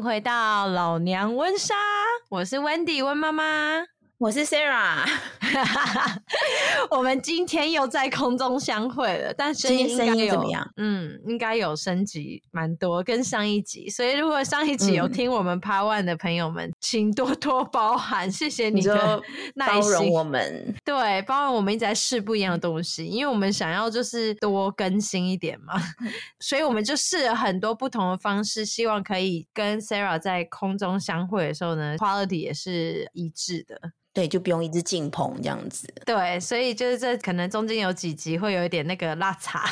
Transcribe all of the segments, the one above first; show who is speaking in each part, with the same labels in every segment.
Speaker 1: 回到老娘溫莎，我是 Wendy 溫媽媽，
Speaker 2: 我是 Sarah。
Speaker 1: 我們今天又在空中相會了，但声音
Speaker 2: 怎麼樣？
Speaker 1: 應該有升級蠻多，跟上一集。所以如果上一集有聽我們 Part 1的朋友們，請多多包涵，謝謝你的耐心，
Speaker 2: 包容我們。
Speaker 1: 對，包容我們一直在試不一樣的東西，因為我們想要就是多更新一點嘛，所以我們就試了很多不同的方式，希望可以跟 Sarah 在空中相會的時候呢 ，quality 也是一致的。
Speaker 2: 对，就不用一直進棚這樣子。
Speaker 1: 對，所以就是這可能中間有幾集會有一點那個落差，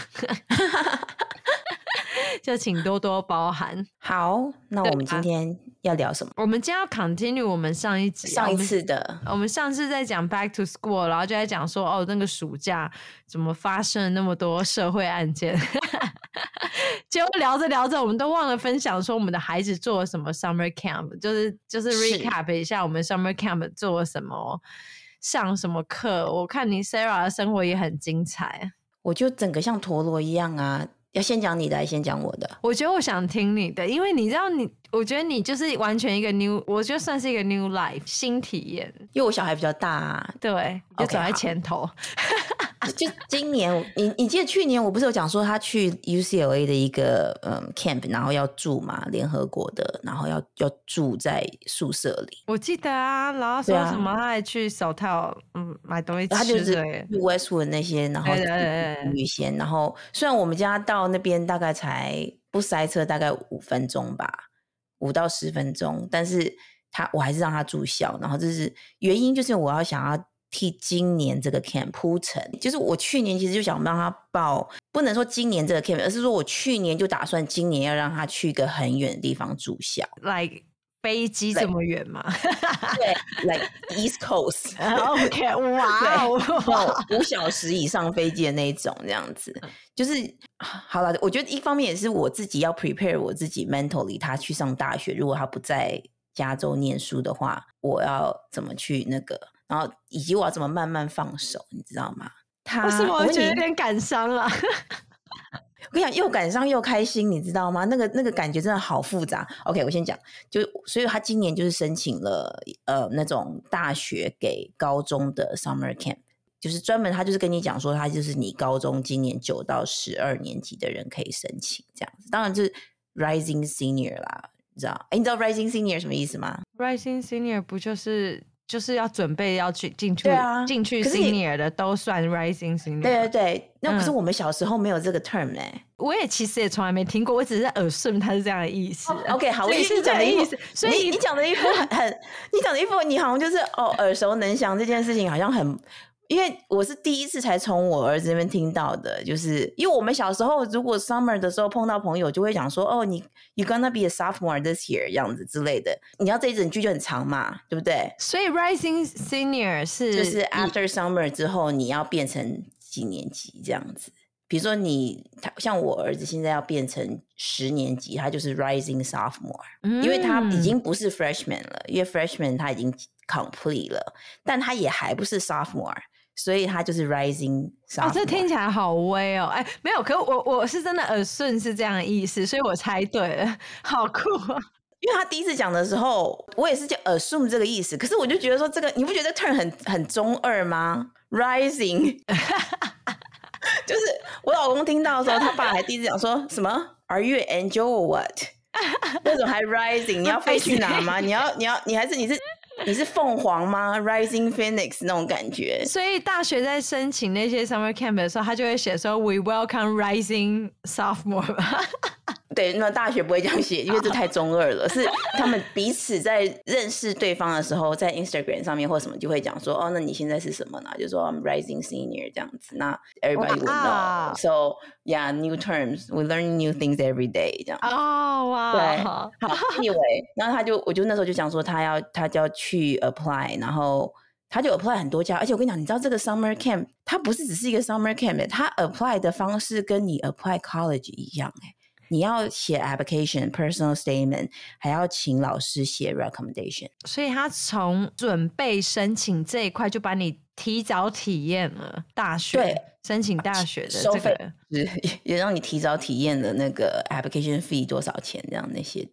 Speaker 1: 就請多多包涵。
Speaker 2: 好，那我們今天要聊什麼？
Speaker 1: 我們今天要 continue 我們上一集
Speaker 2: 上一次的。
Speaker 1: 我們上次在講 back to school， 然後就在講說哦，那個暑假怎麼發生了那麼多社會案件。結果聊着聊着，我們都忘了分享說我們的孩子做了什麼 summer camp， 就是 recap 一下我們 summer camp 做了什麼，上什麼課。我看你 Sarah 的生活也很精彩，
Speaker 2: 我就整個像陀螺一樣啊。要先講你的，還是先講我的？
Speaker 1: 我覺得我想聽你的，因為你知道我覺得你就是完全一個 new， 我觉得算是一個 new life 新體驗。
Speaker 2: 因為我小孩比較大啊，
Speaker 1: 對，就走在前頭。
Speaker 2: 就今年，你記得去年我不是有講說他去 UCLA 的一個camp， 然後要住嘛，聯合國的，然後要住在宿舍裡。
Speaker 1: 我記得啊，然後說什麼他還去手套買東西吃，
Speaker 2: 他就是 Westwood 那些，然後女仙，然後雖然我們家到那邊大概才不塞車，大概5分鐘吧，5到10分鐘，但是我還是讓他住校，然後這是原因，就是我想要替今年這個 camp 鋪陳，就是我去年其實就想讓他報，不能說今年這個 camp， 而是說我去年就打算今年要讓他去一個很遠的地方住校
Speaker 1: ，like 飛機這麼遠嗎？
Speaker 2: 對 ，like East Coast。
Speaker 1: OK， 哇哦
Speaker 2: ，5小時以上飛機的那一種，這樣子，就是好了。我覺得一方面也是我自己要 prepare 我自己 mentally， 他去上大學，如果他不在加州念書的話，我要怎麼去那個。然後以及我要怎麼慢慢放手，你知道嗎？
Speaker 1: 為什麼我覺得有點感傷啊？
Speaker 2: 我跟你講，又感傷又開心，你知道嗎？那個感覺真的好複雜。OK， 我先講，所以他今年就是申請了那種大學給高中的 summer camp， 就是專門他就是跟你講說，他就是你高中今年9到12年級的人可以申請這樣子。當然就是 rising senior 啦，你知道？你知道 rising senior 什麼意思嗎？
Speaker 1: rising senior 不就是要準備要去進去 senior 的都算 rising senior。對
Speaker 2: 对对，那可是我們小時候沒有這個 term 欸。
Speaker 1: 我也其實也從來沒聽過，我只是assume它是這樣的意思。
Speaker 2: OK， 好，我也是這樣的意思。所以你講的一副你講的一副，你好像就是耳熟能詳，這件事情好像很。因為我是第一次才從我兒子那邊聽到的，就是因為我們小時候如果 summer 的時候碰到朋友就會講說you gonna be a sophomore this year 這樣子之類的，你知道這一整句就很長嘛，對不對？
Speaker 1: 所以 rising senior 是
Speaker 2: 就是 after summer 之後你要變成幾年級這樣子，比如說像我兒子現在要變成10年級，他就是 rising sophomore，因為他已經不是 freshman 了，因為 freshman 他已經 complete 了，但他也還不是 sophomore，所以他就是 rising sophomore。
Speaker 1: 這聽起來好威哦！沒有，可是我是真的assume是這樣的意思，所以我猜對了，好酷啊！
Speaker 2: 因為他第一次講的時候，我也是就 assume 這個意思，可是我就覺得說這個，你不覺得 turn 很中二嗎 ？rising， 就是我老公聽到的時候，他爸還第一次講說什麼 ？Are you an angel or what？ 為什麼還 rising？ 你要飛去哪嗎？你還是你是鳳凰嗎 ？Rising Phoenix 那種感覺。
Speaker 1: 所以大學在申請那些 summer camp 的時候，他就會寫說 We welcome rising sophomore 吧。
Speaker 2: 对，那大學不會這樣寫，因為這太中二了。是他們彼此在認識對方的時候，在 Instagram 上面或什麼就會講說，那你現在是什麼呢？就說 I'm rising senior 這樣子。那 everybody will know. So yeah, new terms. We learn new things every day. 這樣。
Speaker 1: 哇。
Speaker 2: 對，好 ，anyway， 然後我就那時候就講說他就要去 apply， 然後他就 apply 很多家，而且我跟你講，你知道這個 summer camp 它不是只是一個 summer camp， 它 apply 的方式跟你 apply college 一樣，你要寫 application personal statement， 還要請老師寫 recommendation，
Speaker 1: 所以他從準備申請這一塊就把你提早體驗了大學，對，申請大學的這個
Speaker 2: 也讓你提早體驗了那個 application fee 多少錢這樣那些的。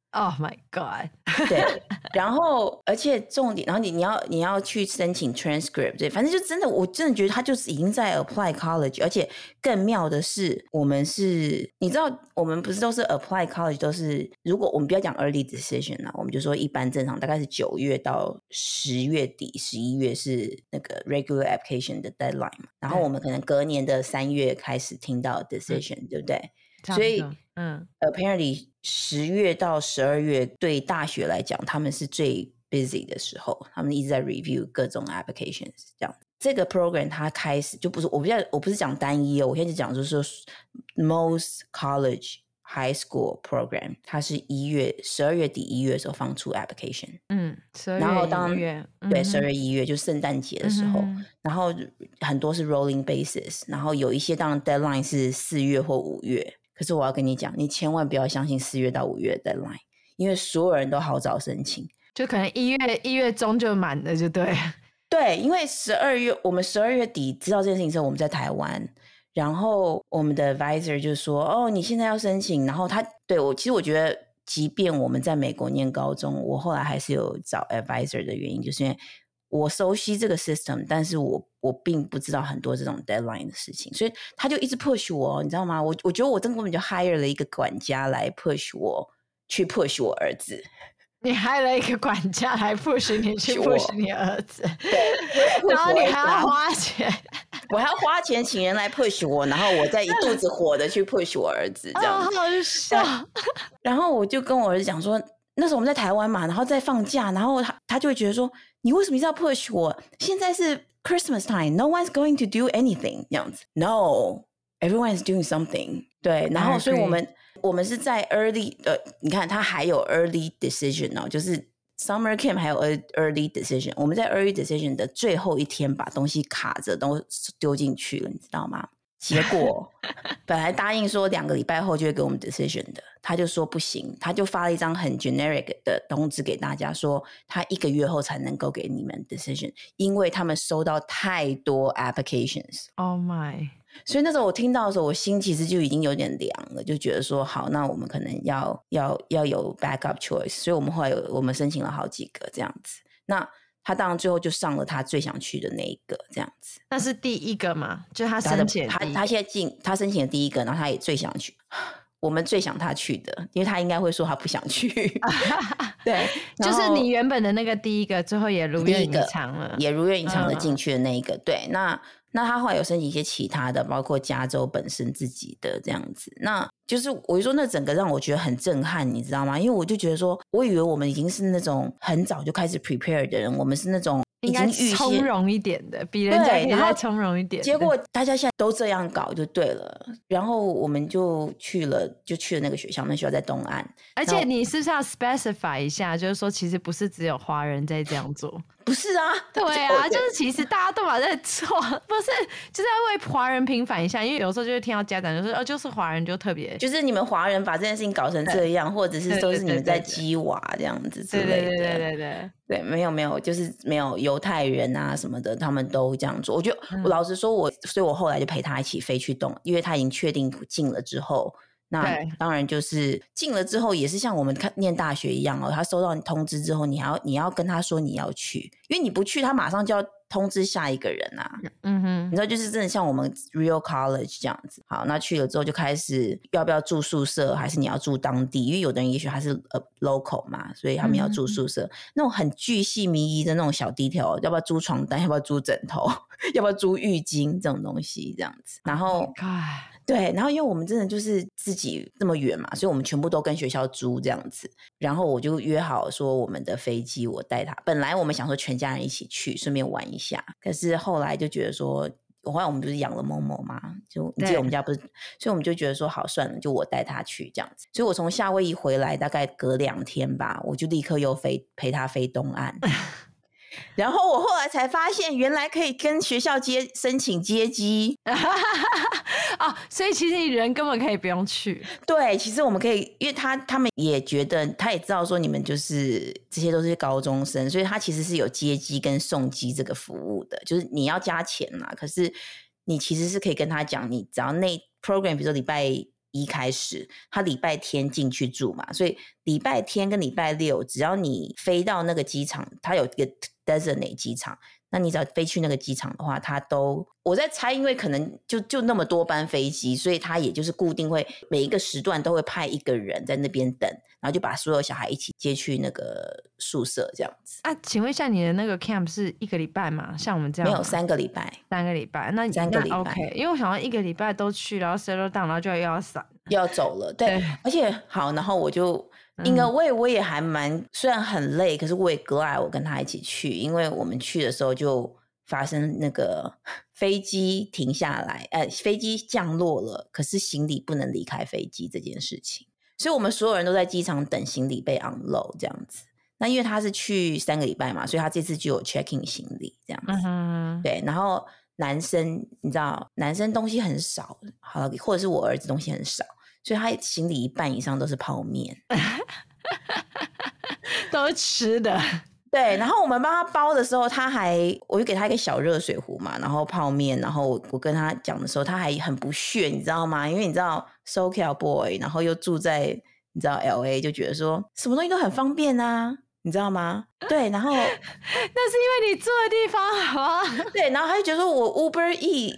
Speaker 1: Oh my god！
Speaker 2: 對，然後而且重點，然後你要去申請 transcript， 对，反正就真的，我真的覺得他就是已經在 apply college， 而且更妙的是，我們是，你知道，我們不是都是 apply college 都是，如果我們不要講 early decision 啦，我們就說一般正常大概是9月到10月底11月是那個 regular application 的 deadline 嘛，然後我們可能隔年的3月開始聽到 decision，對不对？所以apparently 10月到12月對大學來講，他們是最 busy 的時候，他們一直在 review 各種 applications 這樣。這個 program 它開始就不是我不是講單一哦，我現在就講就是說 most college high school program 它是12月底1月的時候放出 application，
Speaker 1: 12月
Speaker 2: 然後當
Speaker 1: 1月
Speaker 2: 对12月1月就聖誕節的時候，然後很多是 rolling basis， 然後有一些當然 deadline 是4月或5月。可是我要跟你講，你千萬不要相信4月到5月的 deadline， 因為所有人都好早申請，
Speaker 1: 就可能1月中就滿了，就对。
Speaker 2: 对，因為我們12月底知道這件事情之後，我們在台灣，然後我們的 advisor 就說：“哦，你現在要申請。”然後其實我覺得，即便我們在美國念高中，我後來還是有找 advisor 的原因，就是因為我熟悉這個 system， 但是我並不知道很多這種 deadline 的事情，所以他就一直 push 我，你知道嗎？我覺得我根本就 hire 了一個管家來 push 我，去 push 我兒子。
Speaker 1: 你 hire 了一個管家來 push 你去 push 你兒子，然後你還要花錢，
Speaker 2: 我還要花錢請人來 push 我，然後我再一肚子火的去 push 我兒子，這樣子。
Speaker 1: 好笑。
Speaker 2: 然後我就跟我兒子講說，那時候我們在台灣嘛，然後在放假，然後他就會覺得說，你為什麼一直要 push 我？現在是 Christmas time, no one's going to do anything 這樣子。No, everyone is doing something。對，然後所以我們是在 early 你看他還有 early decision 哦，就是 summer camp 還有 early decision。我們在 early decision 的最後一天把東西卡着都丟進去了，你知道嗎？結果本來答應說2個禮拜後就會給我們 decision 的，他就說不行，他就發了一張很 generic 的通知給大家說他1個月後才能夠給你們 decision， 因為他們收到太多 applications。
Speaker 1: Oh my！
Speaker 2: 所以那時候我聽到的时候，我心其實就已經有點涼了，就覺得說好，那我們可能要有 backup choice， 所以我們後來我們申請了好幾個這樣子。那他當然最後就上了他最想去的那一個這樣子。
Speaker 1: 那是第一個嘛？就他申請
Speaker 2: 他現在他申請的第一個，然後他也最想去，我們最想他去的，因為他應該會說他不想去。对，
Speaker 1: 就是你原本的那個第一個，最後也如願以償了，
Speaker 2: 也如願以償的進去的那一個。對，那他後來有申請一些其他的，包括加州本身自己的這樣子。那就是我就說那整個讓我覺得很震撼，你知道嗎？因為我就覺得說，我以為我們已經是那種很早就開始 prepare 的人，我們是那種已經預
Speaker 1: 從容一點的，比人家也再從容一點。
Speaker 2: 結果大家現在都這樣搞就對了。然後我們就去了那個學校，那學校在東岸。
Speaker 1: 而且你是不是要 specify 一下，就是說其實不是只有華人在這樣做？
Speaker 2: 不是啊，
Speaker 1: 對啊，就是其實大家都在做，不是就是要為華人平反一下，因為有時候就會聽到家長就說就是華人就特別，
Speaker 2: 就是你們華人把這件事情搞成這樣，或者是都是你們在激娃這樣子之類的。對，沒有，就是沒有猶太人啊什麼的，他們都這樣做。我覺得我老實說，所以我後來就陪他一起飛去因為他已經確定進了之後。那當然就是進了之後也是像我們念大學一樣哦，他收到你通知之後，你要跟他说你要去，因為你不去他馬上就要通知下一個人啊。你知道就是真的像我們 real college 這樣子。好，那去了之後就開始要不要住宿舍，還是你要住當地，因為有的人也許他是local 嘛，所以他們要住宿舍。那種很巨細靡遺的那種小 detail， 要不要租床單，要不要租枕頭，要不要租浴巾這種東西這樣子。然後對，然後因為我們真的就是自己這麼遠嘛，所以我們全部都跟學校租這樣子。然後我就約好說我們的飛機我帶他，本來我們想說全家人一起去順便玩一下，可是後來就覺得說，後來我們不是養了某某嘛，就你記得我們家不是，所以我們就覺得說好算了，就我帶他去這樣子。所以我從夏威夷回來大概隔2天吧，我就立刻又陪他飛東岸。然後我後來才發現，原來可以跟學校申請接機。
Speaker 1: 哦，所以其實你人根本可以不用去。
Speaker 2: 對，其實我們可以，因為他們也覺得，他也知道說你們就是這些都是高中生，所以他其實是有接機跟送機這個服務的，就是你要加錢啦，可是你其實是可以跟他講，你只要那 program 比如說禮拜 1開始，他禮拜天進去住嘛，所以禮拜天跟禮拜六，只要你飛到那個機場，他有一個 designate 機場，那你只要飛去那個機場的話，他都我在猜，因為可能就那麼多班飛機，所以他也就是固定會每一個時段都會派一個人在那邊等，然後就把所有小孩一起接去那個宿舍這樣子。
Speaker 1: 啊，請問一下，你的那個 camp 是1個禮拜嗎？像我們這樣？
Speaker 2: 沒有，3個禮拜。3個禮拜，
Speaker 1: 那
Speaker 2: 3個禮拜
Speaker 1: OK， 因為我想要1個禮拜都去，然後 settle down， 然後就又要散，
Speaker 2: 又要走了。對，而且好，然後我就。因為我也還蠻，雖然很累，可是我也 glad 我跟他一起去，因為我們去的時候就發生那個飛機停下來，飛機降落了，可是行李不能離開飛機這件事情，所以我們所有人都在機場等行李被 unload 這樣子。那因為他是去3個禮拜嘛，所以他這次就有 check in 行李這樣子。對，然後男生你知道，男生東西很少，好，或者是我兒子東西很少。所以他行李1半以上都是泡麵，
Speaker 1: 都是吃的。
Speaker 2: 對，然後我們幫他包的時候，我就給他一個小熱水壺嘛，然後泡麵，然後我跟他講的時候，他還很不屑，你知道嗎？因為你知道 SoCal boy， 然後又住在你知道 LA， 就覺得說什麼東西都很方便啊，你知道嗎？對，然後那是
Speaker 1: 因為你住的地方好啊。
Speaker 2: 對，然後他就覺得說我 Uber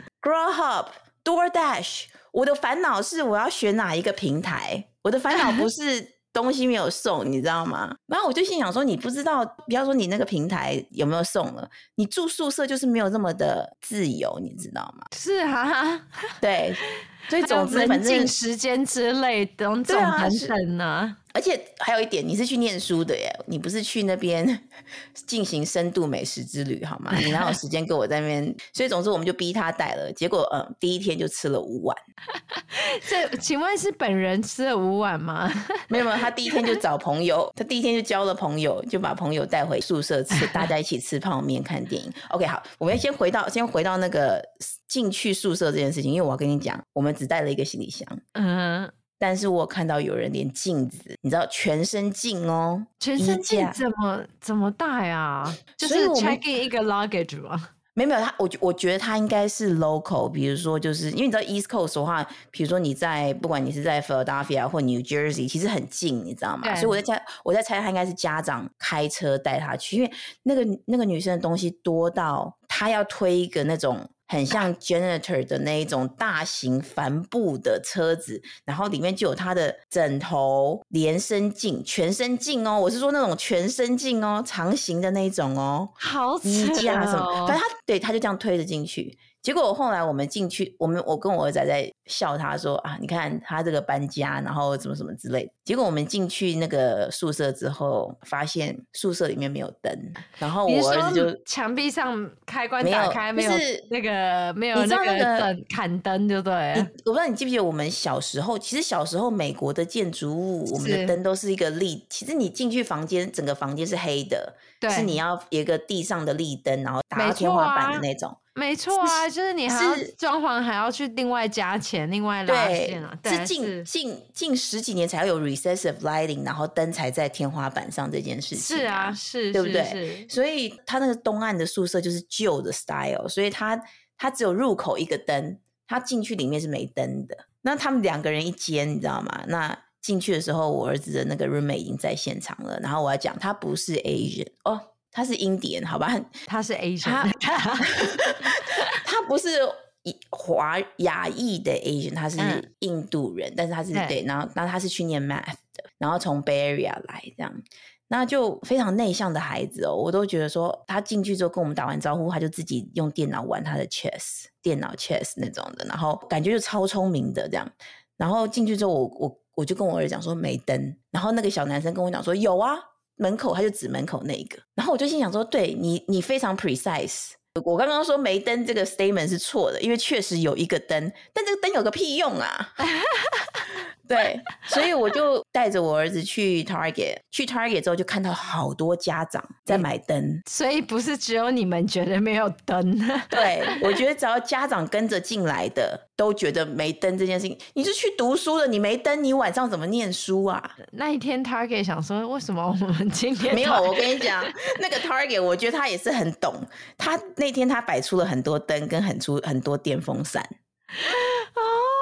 Speaker 2: Eats、Grubhub、DoorDash。我的煩惱是我要選哪一個平台，我的煩惱不是東西沒有送，你知道嗎？然後我就心想說，你不知道，不要說你那個平台有沒有送了，你住宿舍就是沒有這麼的自由，你知道嗎？
Speaker 1: 是啊，
Speaker 2: 對，所以總之反正
Speaker 1: 時間之類的種種等等呢。
Speaker 2: 而且還有一點，你是去念書的耶，你不是去那邊進行深度美食之旅好嗎？你哪有時間跟我在那邊？所以总之我們就逼他帶了，結果第一天就吃了5碗。
Speaker 1: 這請問是本人吃了5碗嗎？
Speaker 2: 沒有，他第一天就找朋友，他第一天就交了朋友，就把朋友帶回宿舍吃，大家一起吃泡麵看電影。OK， 好，我們先回到那個進去宿舍這件事情，因為我要跟你講，我們只帶了一個行李箱。但是我看到有人連鏡子，你知道全身鏡哦，
Speaker 1: 全身鏡怎麼帶啊？就是 check in 一個 luggage 嗎？
Speaker 2: 沒有，我覺得他應該是 local， 比如說就是因為你知道 East Coast 的話，比如說不管你是在 Philadelphia 或 New Jersey， 其實很近，你知道嗎？所以我在猜他應該是家長開車帶他去，因為那個女生的東西多到他要推一個那種很像 janitor 的那一種大型帆布的車子，然後裡面就有他的枕頭、連身鏡、全身鏡哦，我是說那種全身鏡哦，長形的那種哦，
Speaker 1: 好扯哦，
Speaker 2: 衣架什麼，反正他就這樣推着進去。結果後來我們進去，我跟我兒子在笑他說啊，你看他這個搬家，然後什麼什麼之類的。結果我們進去那個宿舍之後，發現宿舍裡面沒有燈，然後我兒子就牆
Speaker 1: 壁上開關打開，沒有那個沒有那個燈砍燈，就對了。
Speaker 2: 我不知道你記不記得我們小時候，其實小時候美國的建築物，我們的燈都是一個立，其實你進去房間，整個房間是黑的，是你要有一個地上的立燈，然後打到天花板的那種。
Speaker 1: 沒錯啊，就是你還要裝潢，還要去另外加錢，另外拉線啊。
Speaker 2: 是近10幾年才有 recessive lighting， 然後燈才在天花板上這件事情。
Speaker 1: 是啊，是，
Speaker 2: 对不對？所以他那個東岸的宿舍就是舊的 style， 所以他只有入口一個燈，他進去裡面是沒燈的。那他們2個人一間，你知道嗎？那進去的時候，我兒子的那個 roommate 已經在現場了。然後我要講，他不是 Asian 哦。他是 Indian， 好吧？
Speaker 1: 他是 Asian，
Speaker 2: 他不是亞裔的 Asian， 他是印度人，但是他是對，然後他是去念 math 的，然後從 Bay Area 來這樣，那就非常內向的孩子哦，我都覺得說他進去之後跟我們打完招呼，他就自己用電腦玩他的 chess， 電腦 chess 那種的，然後感覺就超聰明的這樣，然後進去之後我就跟我兒子講說沒燈，然後那個小男生跟我講說有啊。門口，他就指門口那一個，然後我就心想說，對，你非常 precise。我剛剛說沒燈這個 statement 是錯的，因為確實有一個燈，但這個燈有個屁用啊！對，所以我就帶着我兒子去 Target 之後就看到好多家長在買燈，
Speaker 1: 所以不是只有你們覺得沒有燈。
Speaker 2: 對，我覺得只要家長跟着進來的都覺得沒燈這件事情，你是去讀書的，你沒燈你晚上怎麼念書啊？那
Speaker 1: 一天 Target 想說為什麼我們今天
Speaker 2: 沒有，我跟你講那個 Target 我覺得他也是很懂，他那天他擺出了很多燈跟很多電風扇。
Speaker 1: 哦，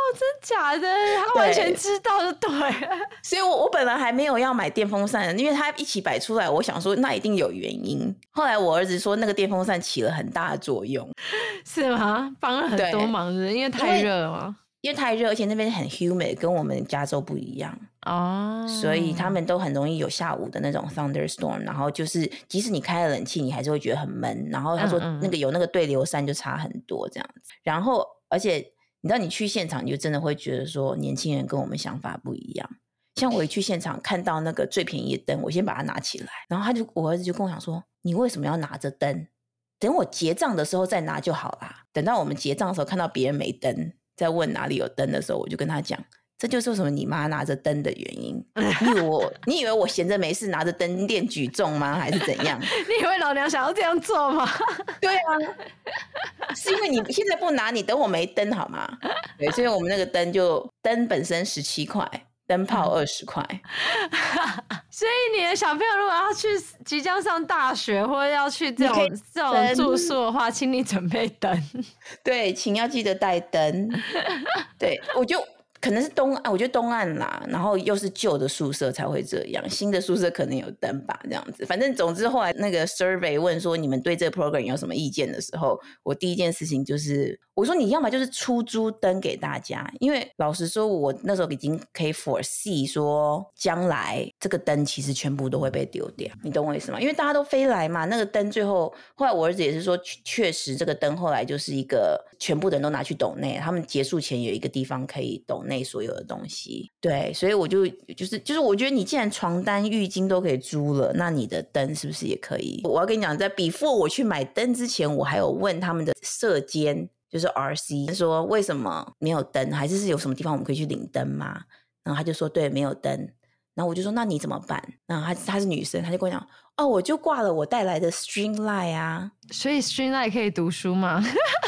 Speaker 1: 真假的？他完全知道就對了。
Speaker 2: 所以我本來還沒有要買電風扇，因為他一起擺出來，我想說那一定有原因。後來我兒子說那個電風扇起了很大的作用。
Speaker 1: 是嗎？幫了很多忙，是因為太熱了嗎？
Speaker 2: 因為太熱，而且那邊很 humid， 跟我們加州不一樣哦，所以他們都很容易有下午的那種 thunderstorm， 然後就是即使你開了冷氣，你還是會覺得很悶。然後他說那個有那個對流扇就差很多這樣子。然後而且你知道你去現場，你就真的會覺得說年輕人跟我們想法不一樣。像我一去現場看到那個最便宜的燈，我先把它拿起來，然後我兒子就跟我講說：“你為什麼要拿着燈？等我結賬的時候再拿就好啦。”等到我們結賬的時候看到別人沒燈，在問哪裡有燈的時候，我就跟他講，這就是為什麼你媽拿着燈的原因。你以為我閒着沒事拿着燈練舉重嗎？還是怎樣？
Speaker 1: 你以為老娘想要這樣做嗎？
Speaker 2: 對啊，是因為你現在不拿，你等我沒燈好嗎？對，所以我們那個燈本身17塊，燈泡20塊。
Speaker 1: 所以你的小朋友如果要去即將上大學，或者要去這種住宿的話，請你準備燈。
Speaker 2: 對，請要記得帶燈。對，我就可能是我覺得東岸啦，然後又是舊的宿舍才會這樣，新的宿舍可能有燈吧，這樣子。反正总之後來那個 survey 問說你們對這個 program 有什麼意見的時候，我第一件事情就是我說你要麼就是出租燈給大家，因為老實說我那時候已經可以 foresee 說將來這個燈其實全部都會被丟掉，你懂我意思嗎？因為大家都飛來嘛，那個燈後來我兒子也是說確實這個燈後來就是一個全部的人都拿去抖內，他們結束前有一個地方可以抖內所有的東西。對，所以我就是我覺得你既然床單浴巾都可以租了，那你的燈是不是也可以？我要跟你講，在 before 我去買燈之前，我還有問他們的舍監，就是 RC 說為什麼沒有燈，還是有什麼地方我們可以去領燈嗎？然后他就說对，沒有燈。然後我就說那你怎麼辦？然後她是女生，她就跟我講哦，我就掛了我帶來的 string light 啊。
Speaker 1: 所以 string light 可以讀書嗎？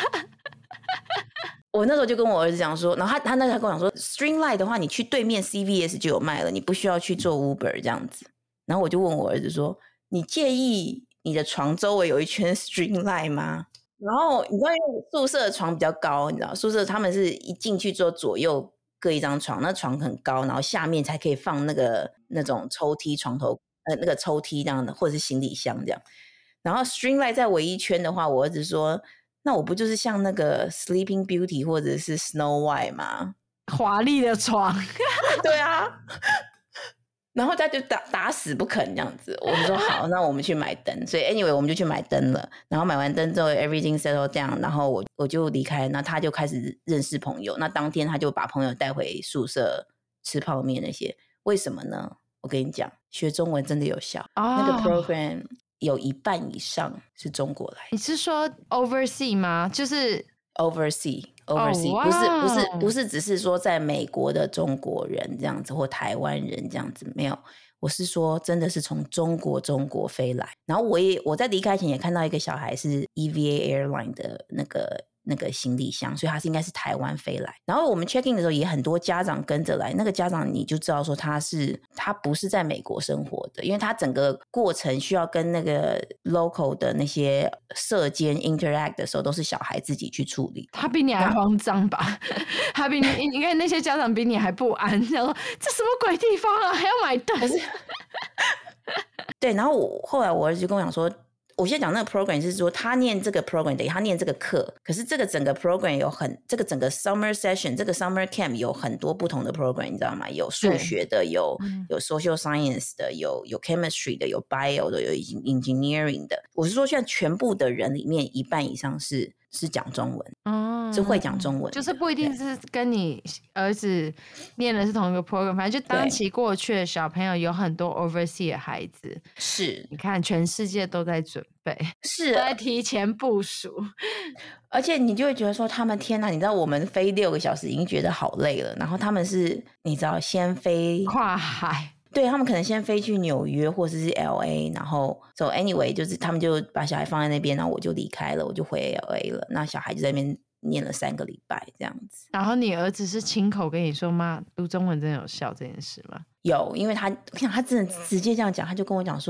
Speaker 2: 我那時候就跟我兒子講說，然後他那時候跟我講說 string light 的話你去對面 CVS 就有賣了，你不需要去做 Uber 這樣子。然後我就問我兒子說，你介意你的床周圍有一圈 string light 嗎？然後你知道因為宿舍的床比較高，你知道宿舍他们是一進去之後左右各一張床，那床很高，然後下面才可以放那種抽屜床頭那個抽屜這樣的，或者是行李箱這樣。然後 string light 在圍一圈的話，我兒子說那我不就是像那個 Sleeping Beauty 或者是 Snow White 嗎？
Speaker 1: 華麗的床。
Speaker 2: 對啊。然後他就打死不肯這樣子，我們說好，那我們去買燈。所以 anyway 我們就去買燈了。然後買完燈之後 everything settled down，然後我就離開，那他就開始認識朋友。那當天他就把朋友帶回宿舍吃泡麵那些。為什麼呢？我跟你講，學中文真的有效。那個 program 有一半以上是中國來。
Speaker 1: 你是說 oversea 嗎？就是
Speaker 2: oversea， 不是只是說在美國的中國人這樣子，或台灣人這樣子，沒有。我是說真的是從中國飛來。然後我在離開前也看到一個小孩是 EVA Airline 的那個行李箱，所以他应該是台灣飛來。然後我們 check in 的時候也很多家長跟着來，那個家長你就知道說他不是在美国生活的，因為他整個過程需要跟那個 local 的那些舍監 interact 的時候都是小孩自己去處理。他
Speaker 1: 比你還慌張吧？他比你看那些家長比你還不安，想說這什麼鬼地方啊，還要買燈？
Speaker 2: 對，然後後來我兒子就跟我講說，我現在講那個 program 是說他念這個 program 等於他念這個課，可是這個整個 program 這個整個 summer session 這個 summer camp 有很多不同的 program， 你知道嗎？有數學的，有 social science 的，有 chemistry 的，有 bio 的，有 engineering 的。我是說現在全部的人裡面一半以上是講中文，是會講中文，
Speaker 1: 就是不一定是跟你兒子念的是同一個 program， 反正就當期過去的小朋友有很多 overseas 的孩子，
Speaker 2: 是
Speaker 1: 你看全世界都在準備，
Speaker 2: 是
Speaker 1: 都在提前部署，
Speaker 2: 而且你就會覺得說他們天哪，你知道我們飛6個小時已經覺得好累了，然後他們是你知道先飛
Speaker 1: 跨海。
Speaker 2: 對，他們可能先飛去紐約或者是 LA， 然後 so anyway 就是他們就把小孩放在那邊，然後我就離開了，我就回 LA 了。那小孩就在那邊念了3個禮拜這樣子。
Speaker 1: 然後你兒子是親口跟你說媽讀中文真的有效這件事嗎？
Speaker 2: 有，因為他真的直接這樣講，他就跟我講說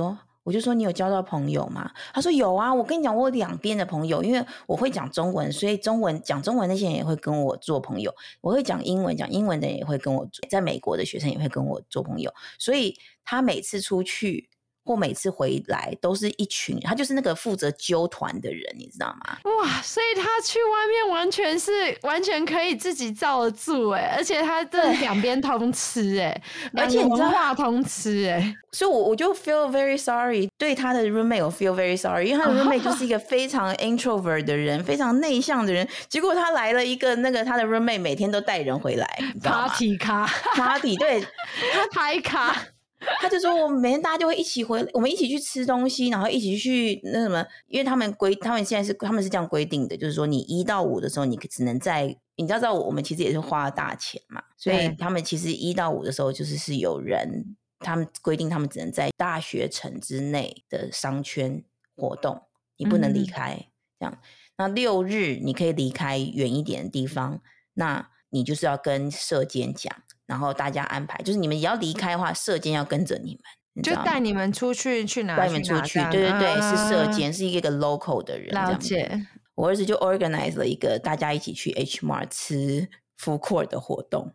Speaker 2: 我就說你有交到朋友嗎？他說有啊，我跟你講，我有兩邊的朋友，因為我會講中文，所以講中文那些人也會跟我做朋友。我會講英文的人也會跟我，在美國的學生也會跟我做朋友。所以他每次出去或每次回來都是一群，他就是那個負責揪團的人，你知道嗎？
Speaker 1: 哇，所以他去外面完全可以自己罩得住而且他这两邊通吃
Speaker 2: 而且
Speaker 1: 文化通吃
Speaker 2: 所以我就 feel very sorry， 对他的 roommate 我 feel very sorry， 因為他的 roommate 就是一個非常 introvert 的人，非常內向的人，結果他來了一個那個他的 roommate 每天都帶人回來，你知道嗎？ party 對，
Speaker 1: 他拍卡。
Speaker 2: 他就說我们每天大家就會一起回來，我們一起去吃東西，然後一起去那什麼，因為他們現在是他們是這樣規定的，就是說你1到5的時候你只能在，你知道我們其實也是花了大錢嘛，所以他們其實1到5的時候就是有人他們規定他們只能在大學城之內的商圈活動，你不能離開這樣。那6日你可以離開遠一點的地方，那你就是要跟舍監講。然後大家安排，就是你們也要離開的話，舍監要跟着你們，
Speaker 1: 就帶你們出去哪？
Speaker 2: 帶你們出去，對，是舍監，是一個 local 的人。
Speaker 1: 了解。
Speaker 2: 我兒子就 organize 了一個大家一起去 H Mart 吃 food court 的活動，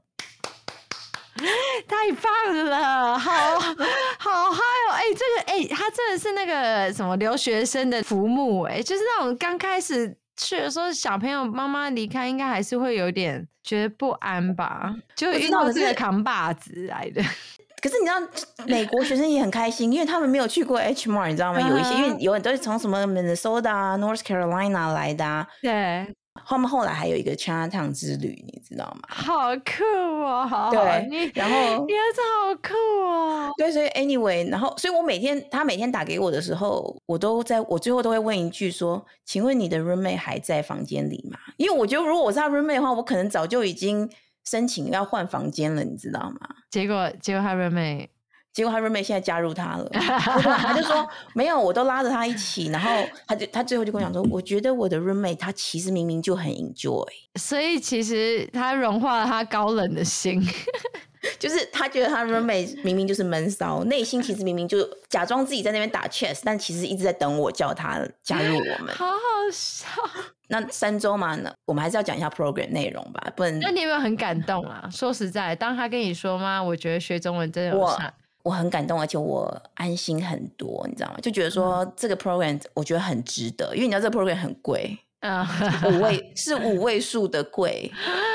Speaker 1: 太棒了，好嗨哦！這個他真的是那個什麼留學生的浮木就是那種剛開始去的時候，小朋友媽媽離開，應該還是會有點覺得不安吧？就遇到這個扛把子來的。可是你知道，美國學生也很開心，因為他們沒有去過 H Mart， 你知道嗎？有一些，因為有很多是從什麼 Minnesota、North Carolina 來的對。他們後來還有一個 Chinatown 之旅，你知道嗎？好酷哦！好，對，然後你兒子好酷哦。對，所以 anyway， 然後所以他每天打給我的時候，我最後都會問一句說：“請問你的 roommate 還在房間裡嗎？”因為我覺得如果我是他 roommate 的話，我可能早就已經申請要換房間了，你知道嗎？結果他 roommate。結果他 roommate 現在加入他了，他就說沒有，我都拉着他一起，然後他最後就跟我講說，我覺得我的 roommate 他其實明明就很 enjoy， 所以其實他融化了他高冷的心，就是他覺得他 roommate 明明就是悶騷，內心其實明明就假裝自己在那邊打 chess， 但其實一直在等我叫他加入我們，好好笑。那3週嘛，我們還是要講一下 program 內容吧，不然。那你有沒有很感動啊？說實在，當他跟你說嗎？我覺得學中文真的有差。我很感動，而且我安心很多，你知道嗎？就覺得說這個 program 我覺得很值得，因為你知道這個 program 很貴，是5位數的貴，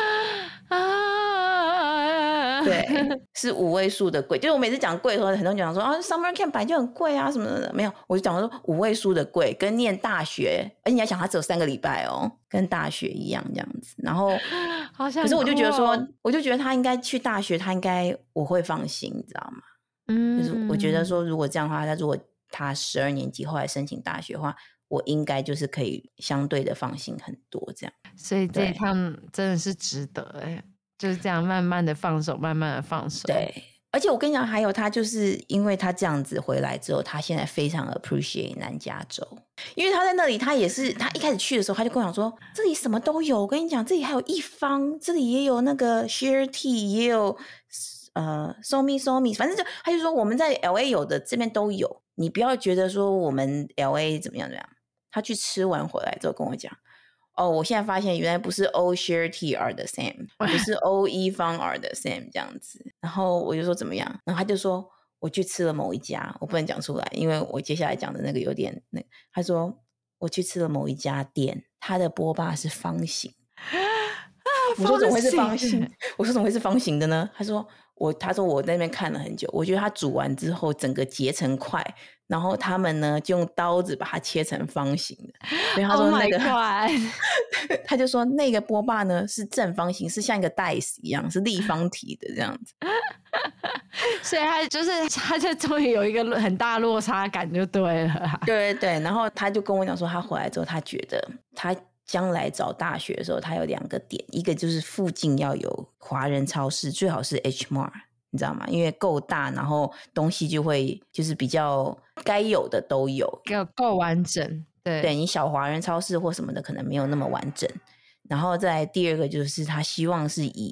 Speaker 1: 對，是5位數的貴。就是我每次講貴的時候，很多人講說啊 ，summer camp 本來就很貴啊什麼的，沒有，我就講說5位數的貴，跟念大學，而且你要想它只有3個禮拜哦，跟大學一樣這樣子。然後，好像可是我就覺得說，我就覺得他應該去大學，他應該我會放心，你知道嗎？就是我覺得說，如果這樣的話，如果他12年級後來申請大學的話，我應該就是可以相對的放心很多這樣。所以這一趟真的是值得就是這樣慢慢的放手，慢慢的放手。對，而且我跟你講，還有他就是因為他這樣子回來之後，他現在非常 appreciate 南加州，因為他在那裡，他也是他一開始去的時候，他就跟我講說，這裡什麼都有，我跟你講，這裡還有一方，這裡也有那個 share tea， 也有。so me， 反正他就說我們在 LA 有的這邊都有，你不要覺得說我們 LA 怎麼樣。他去吃完回來之後跟我講，我現在發現原來不是 all share tea are the same， 不是 all 一方 are the same 這樣子。然後我就說怎麼樣，然後他就說我去吃了某一家，我不能講出來，因為我接下來講的那個有點那個。他說我去吃了某一家店，他的波霸是方形。我說怎麼會是方形？我說怎麼會是方形的呢？他說我在那邊看了很久，我覺得他煮完之後整個結成塊，然後他們呢就用刀子把它切成方形的。所以他說那個他就說那個波霸呢是正方形，是像一個 dice 一樣，是立方體的這樣子。所以他就終於有一個很大落差感就對了。對，然後他就跟我講說，他回來之後他覺得他將來找大學的時候，他有2個點，一個就是附近要有華人超市，最好是 H Mart， 你知道嗎？因為夠大，然後東西就是比較該有的都有，夠完整。對，你小華人超市或什麼的可能沒有那麼完整。然後再來第2個就是他希望是以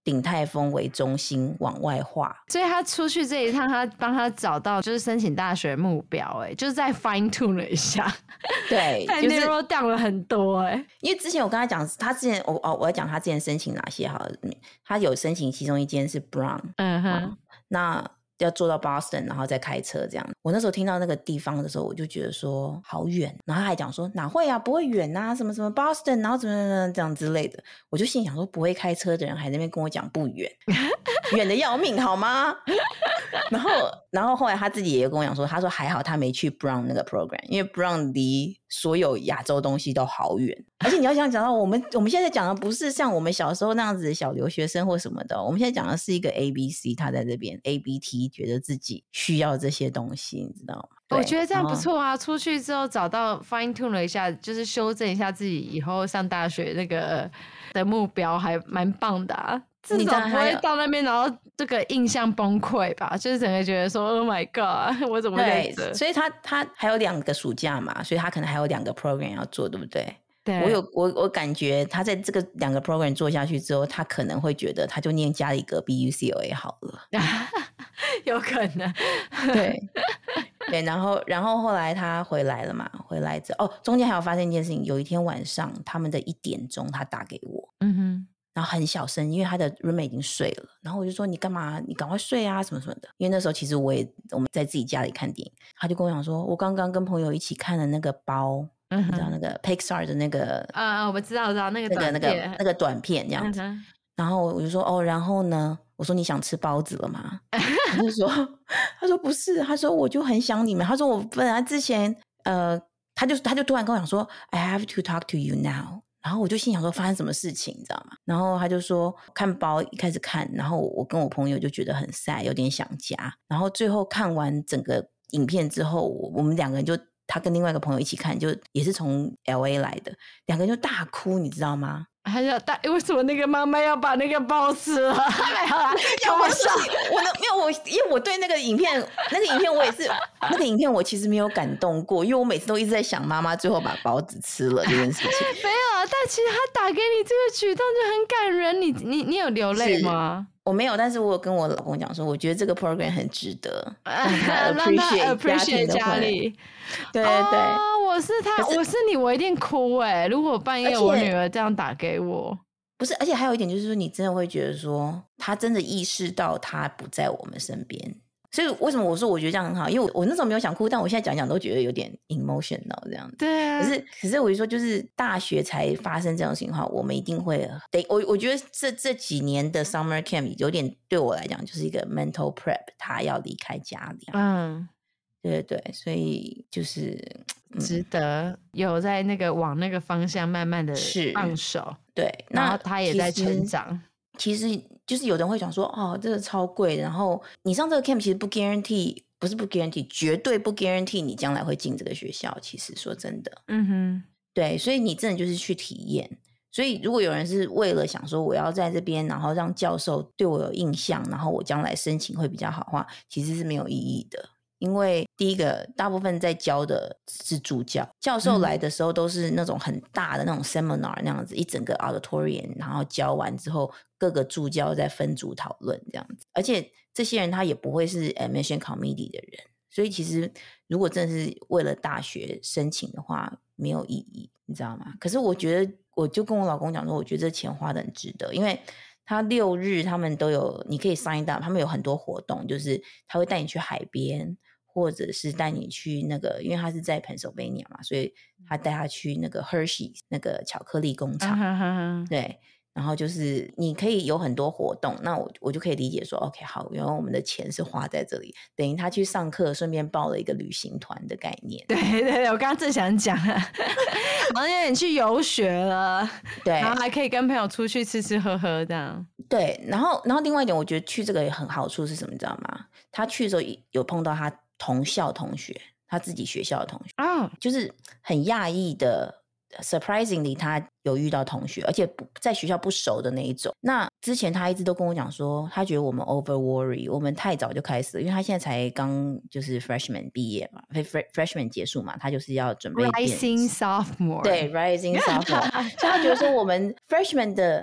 Speaker 2: 鼎泰豐為中心往外畫，
Speaker 1: 所以他出去這一趟，他幫他找到就是申請大學目標，就是再 fine tune 了一下，
Speaker 2: 對，
Speaker 1: 就是 narrow down 了很多，
Speaker 2: 因為之前我跟他講，他之前我要講他之前申請哪些好了，他有申請其中一間是 Brown， 那要坐到 Boston， 然後再開車這樣。我那時候聽到那個地方的時候，我就覺得說好遠，然後他還講說哪會啊，不會遠啊，什麼什麼 Boston， 然後怎麼這樣之類的。我就心想說，不會開車的人還在那邊跟我講不遠，遠的要命好嗎？然後後來他自己也跟我講說，他說還好他沒去 Brown 那個 program， 因為 Brown 離所有亞洲東西都好遠，而且你要想講到我們現在講的不是像我們小時候那樣子的小留學生或什麼的，我們現在講的是一個 ABC， 他在這邊 ABT 覺得自己需要這些東西，你知道嗎？
Speaker 1: 我覺得這樣不錯啊，出去之後找到 fine tune 了一下，就是修正一下自己以後上大學那個的目標，還蠻棒的啊。至少不會到那邊然後這個印象崩潰吧，就是整個覺得說 Oh my god， 我怎麼在這？
Speaker 2: 所以他還有2個暑假嘛，所以他可能還有2個 program 要做，對不对？
Speaker 1: 對，
Speaker 2: 我感覺他在這個2個 program 做下去之後，他可能會覺得他就念家裡隔壁 UCLA 好了，
Speaker 1: 有可能。
Speaker 2: 對，然後後來他回來了嘛，回來之後中間還有發生一件事情，有一天晚上他們的1點鐘他打給我，然後很小聲，因為他的 roommate 已經睡了，然後我就說你幹嘛？你趕快睡啊，什麼什麼的。因為那時候其實我們在自己家裡看電影，他就跟我講說，我剛剛跟朋友一起看了那個包，你知道那個 Pixar 的那個
Speaker 1: 我知道那個
Speaker 2: 短片這樣子。然後我就說然後呢？我說你想吃包子了嗎？他說不是，他說我就很想你們。他說我本來之前他就突然跟我講說 I have to talk to you now。然後我就心想說發生什麼事情你知道嗎？然後他就說看包一開始看，然後我跟我朋友就覺得很 sad， 有點想家。然後最後看完整個影片之後，我們2個人就他跟另外一個朋友一起看，就也是從 LA 來的，2個人就大哭，你知道嗎？
Speaker 1: 他就為什麼那個媽媽要把那個包吃了？開玩笑，
Speaker 2: 因為我对那個影片我也是那個影片我其實沒有感動過，因為我每次都一直在想媽媽最後把包子吃了這件事情。
Speaker 1: 沒有啊，但其實他打給你這個舉動就很感人，你有流淚嗎？
Speaker 2: 我沒有，但是我有跟我老公講說，我覺得這個 program 很值得，讓他
Speaker 1: appreciate 家裡。
Speaker 2: 對，
Speaker 1: 我是你，我一定哭欸。如果半夜我女兒這樣打給我，
Speaker 2: 不是，而且還有一點就是說，你真的會覺得說，他真的意識到他不在我們身邊。所以為什麼我說我覺得這樣很好？因為我那時候沒有想哭，但我現在講講都覺得有點 emotional 這樣子。
Speaker 1: 對啊。
Speaker 2: 可是我就說，就是大學才發生這種情況，我們一定會我覺得這幾年的 summer camp 有點對我來講就是一個 mental prep， 他要離開家裡。對，所以就是
Speaker 1: 值得有在那個往那個方向慢慢的放手。對，然後他也在成長。
Speaker 2: 其實就是有人會講說這個超貴，然後你上這個 camp 其實不 guarantee， 不是不 guarantee， 絕對不 guarantee 你將來會進這個學校。其實說真的，對，所以你真的就是去體驗。所以如果有人是為了想說我要在這邊，然後讓教授對我有印象，然後我將來申請會比較好的話，其實是沒有意義的。因為第一個，大部分在教的是助教，教授來的時候都是那種很大的那種 seminar 那樣子，一整個 auditorium， 然後教完之後各個助教在分組討論這樣子，而且這些人他也不會是 admission committee 的人，所以其實如果真的是為了大學申請的話沒有意義，你知道嗎？可是我覺得，我就跟我老公講說，我觉得這錢花得很值得，因為他6日他們都有，你可以 sign up， 他們有很多活動，就是他会帶你去海邊，或者是帶你去那個，因為他是在 Pennsylvania 嘛，所以他帶他去那個 Hershey 那個巧克力工廠，對，然後就是你可以有很多活動，那我就可以理解說 OK 好，原來我們的錢是花在這裡，等於他去上課順便報了一個旅行團的概念。
Speaker 1: 對，我剛剛正想講然後因為你去遊學了，
Speaker 2: 對，
Speaker 1: 然後還可以跟朋友出去吃吃喝喝這樣。
Speaker 2: 對，然後另外一點我覺得去這個也很好處是什麼你知道嗎？他去的時候有碰到他同校同學，他自己學校的同學就是很訝異的 surprisingly 他有遇到同學，而且在學校不熟的那一種。那之前他一直都跟我講說他覺得我們 over worry， 我們太早就開始了，因為他現在才剛就是 freshman 畢業嘛，freshman 結束嘛，他就是要準備
Speaker 1: rising sophomore，
Speaker 2: 对 rising sophomore 所以他覺得說我們 freshman 的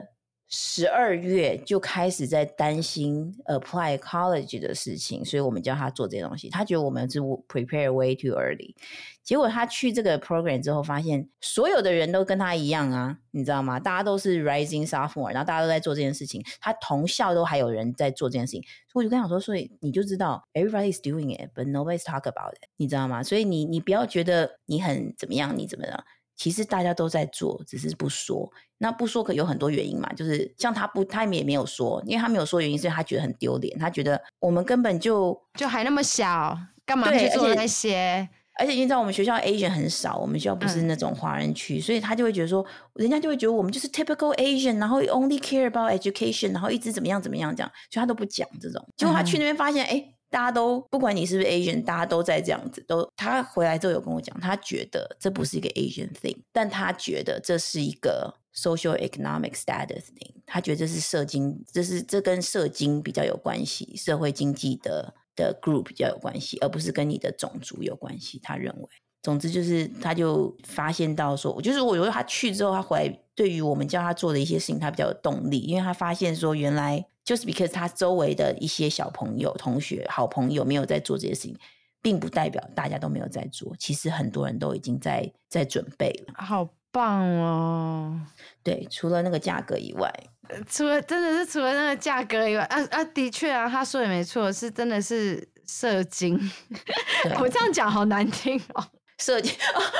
Speaker 2: 12月就開始在擔心 apply college 的事情，所以我們叫他做這些東西。他覺得我們是 prepare way too early。結果他去這個 program 之後，發現所有的人都跟他一樣啊，你知道嗎？大家都是 rising sophomore， 然後大家都在做這件事情。他同校都還有人在做這件事情，所以我就跟他說，所以你就知道 everybody is doing it, but nobody's talk about it， 你知道嗎？所以你不要覺得你很怎麼樣，你怎麼樣。其實大家都在做，只是不說。那不說可有很多原因嘛，就是像他也没有說，因為他沒有說原因，是因為他覺得很丟臉，他覺得我們根本就
Speaker 1: 還那麼小，幹嘛去做那些？
Speaker 2: 而且你知道我們學校 Asian 很少，我們學校不是那種華人區，所以他就會覺得說，人家就會覺得我們就是 typical Asian， 然後 only care about education， 然後一直怎麼樣怎麼樣這樣，所以他都不講這種。結果他去那邊發現，大家都不管你是不是 Asian， 大家都在這樣子。他回來之後有跟我講，他覺得這不是一個 Asian thing， 但他覺得這是一個 social economic status thing。他覺得這是這跟社經比較有關係，社會經濟的 group 比較有關係，而不是跟你的種族有關係。他認為，總之就是他就發現到說，我覺得他去之後，他回來對於我們叫他做的一些事情，他比較有動力，因為他發現說原來。就是 because 他周圍的一些小朋友、同學、好朋友沒有在做這些事情，並不代表大家都沒有在做。其實很多人都已經在準備了。
Speaker 1: 好棒哦！
Speaker 2: 對，除了那個價格以外，
Speaker 1: 除了那個價格以外，的確啊，他說也沒錯，是真的是社經。我這樣講好難聽哦。
Speaker 2: 社經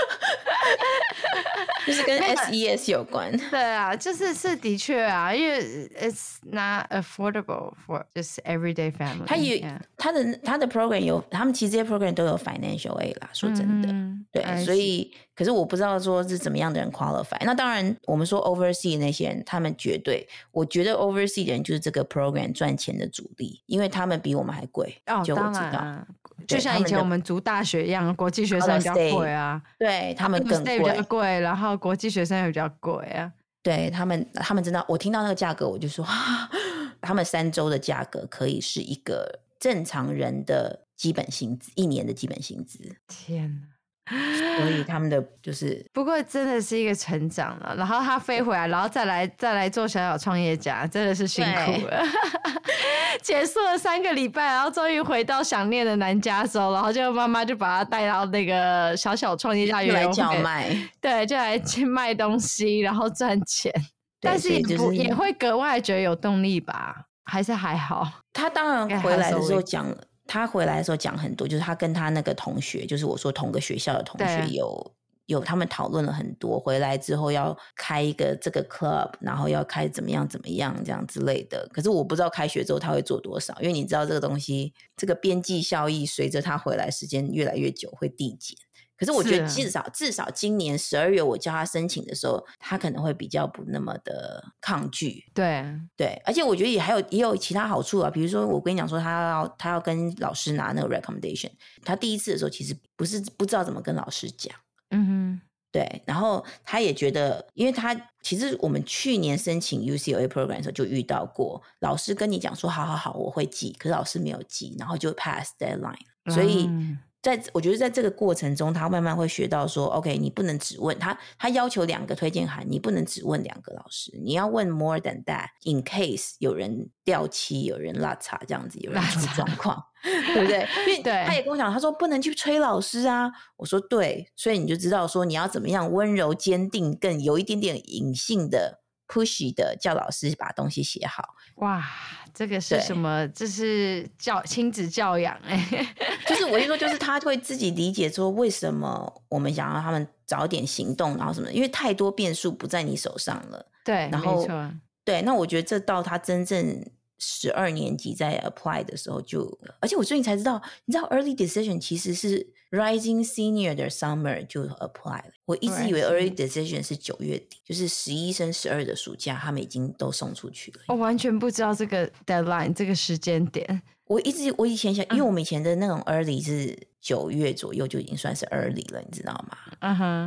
Speaker 2: 就是跟 SES 有關。
Speaker 1: 對啊，就是的確啊，因為 it's not affordable for just everyday family。他的 program 有，他們其實這些 program 都有 financial aid 啦，說真的，對，所以可是我不知道說是怎麼樣的人 qualify。那當然，我們說 overseas 那些人，他們絕對，我覺得 overseas 的人就是這個 program 賺錢的主力，因為他們比我們還貴。就我知道。 就像以前我們讀大學一樣，國際學生比較貴啊，
Speaker 2: 對，他們更貴，
Speaker 1: 比較貴，然後國際學生也比較貴啊。
Speaker 2: 對，他們真的，我聽到那個價格我就說，他們3週的價格可以是一個正常人的基本薪資，1年的基本薪資。
Speaker 1: 天哪！
Speaker 2: 所以他們的就是
Speaker 1: 不過真的是一個成長了，然后他飛回來，然後再來做小小創業家，真的是辛苦了。結束了3個禮拜，然後終於回到想念的南加州，然後就媽媽就把他帶到那個小小創業家園來叫賣，對，就來賣東西，然後賺錢。但是也會格外覺得有動力吧？還是還好？
Speaker 2: 他當然回來的時候講了。他回來的時候講很多，就是他跟他那個同學，就是我說同個學校的同學有他們討論了很多，回來之後要開一個這個 club， 然後要開怎麼樣這樣之類的。可是我不知道開學之後他會做多少，因為你知道這個東西，這個邊際效益隨着他回來時間越來越久會遞減。可是我覺得至少今年12月我叫他申請的時候，他可能會比較不那麼的抗拒。
Speaker 1: 对，
Speaker 2: 而且我覺得也有其他好處啊，比如說我跟你講說他要跟老師拿那個 recommendation， 他第一次的時候其實不知道怎麼跟老師講。
Speaker 1: 嗯哼，
Speaker 2: 對，然後他也覺得，因為他其實我們去年申請 UCLA program 的時候就遇到過，老師跟你講說好我會記，可是老師沒有記，然後就 pass deadline，所以我覺得在這個過程中，他慢慢會學到說 OK， 你不能只問他要求2個推薦函，你不能只問2個老師，你要問 more than that in case 有人掉漆，有人落差這樣子，有人出狀況，對不對？因為他也跟我講，他說不能去催老師啊。我說對，所以你就知道說你要怎麼樣溫柔堅定，更有一點點隱性的 pushy 的叫老師把東西寫好。
Speaker 1: 哇，這個是什麼？這是親子教養
Speaker 2: 就是我就說，就是他會自己理解說為什麼我們想要他們早點行動，然後什麼的，因為太多變數不在你手上了。
Speaker 1: 對，
Speaker 2: 然後
Speaker 1: 沒錯。對，
Speaker 2: 那我覺得這到他真正12年級在 apply 的時候而且我最近才知道，你知道 early decision 其實是 rising senior 的 summer 就 apply 了。我一直以為 early decision 是9月底，就是11升12的暑假他們已經都送出去了。
Speaker 1: 我完全不知道這個 deadline 這個時間點。
Speaker 2: 我以前想，因為我們以前的那種 early 是9月左右就已經算是 early 了，你知道嗎？
Speaker 1: 嗯哼。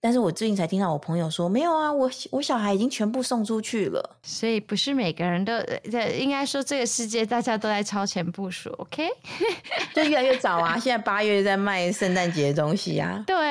Speaker 2: 但是我最近才聽到我朋友說，沒有啊，我小孩已經全部送出去了。
Speaker 1: 所以不是每個人都，應該說這個世界大家都在超前部署 ，OK？
Speaker 2: 就越來越早啊，現在8月在賣聖誕節的東西啊。
Speaker 1: 對，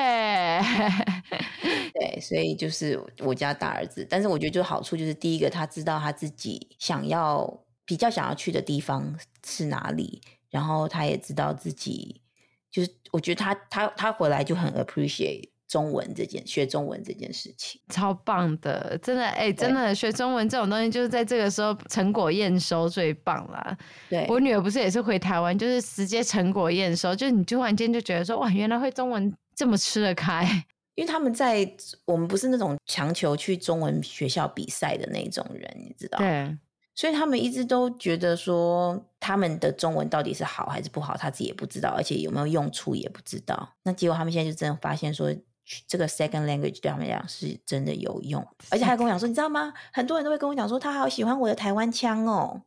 Speaker 2: 對，所以就是我家大兒子，但是我覺得就好處就是第一個，他知道他自己比較想要去的地方是哪裡，然後他也知道自己就是我覺得他回來就很 appreciate。學中文这件事情
Speaker 1: 超棒的，真的真的學中文這種東西就是在這個時候成果驗收最棒啦。對，我女兒不是也是回台灣，就是直接成果驗收，就是你突然間就覺得說哇，原來會中文這麼吃得開。
Speaker 2: 因為他們我們不是那種強求去中文學校比賽的那種人，你知道？對，所以他們一直都覺得說他們的中文到底是好還是不好，他自己也不知道，而且有沒有用處也不知道。那結果他們現在就真的發現說，這個 second language 對他們來講是真的有用，而且還跟我講說，你知道嗎？很多人都會跟我講說，他好喜歡我的台灣腔哦。